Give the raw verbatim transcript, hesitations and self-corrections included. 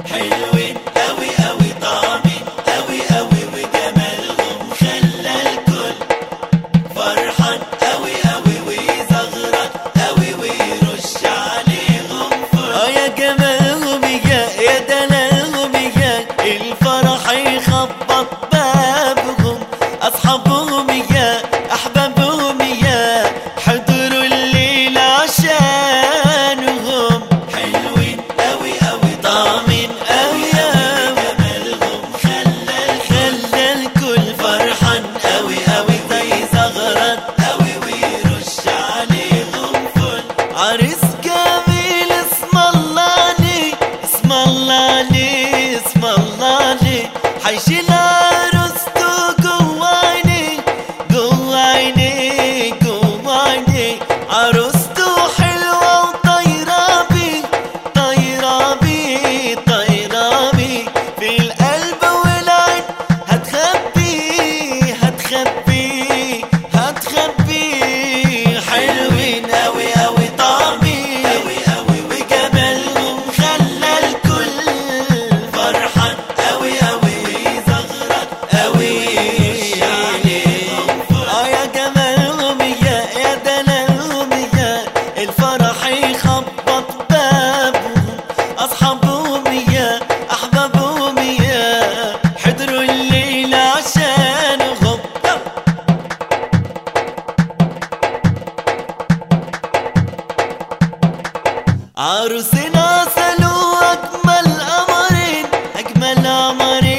حلوين أوي أوي طعمين أوي أوي وجمالهم خلى الكل فرحان أوي أوي ويزغرط أوي ويرش عليهم فل. اه يا جمالهم يا يا دلالهم يا الفرح يخبط بابهم، أصحابهم يا أحبابهم يا حضروا الليل عشانهم. حلوين أوي أوي طعمين أوي أوي جمالهم خلى خلى الكل فرحان أوي أوي ويزغرط أوي ويرش عليهم فل. عريس جميل اسم الله عليه اسم الله عليه اسم الله عليه، حيشيل عروسته جوا عينيه جوا عينيه جوا عينيه. عروسته حلوة وطايرة بيه طايرة بيه طايرة بيه في القلب والعين، هتخبيه هتخبيه هتخبيه. حلوين أوي أوي طعمين أوي أوي وجمالهم خلى الكل فرحان أوي أوي ويزغرط أوي ويرش عليهم فل. اه يا جمالهم يا يا دلالهم يا الفرح يخبط بابهم، أصحابهم يا أحبابهم يا حضروا الليل عشانهم. عروسنا سلوا أجمل قمرين أجمل قمرين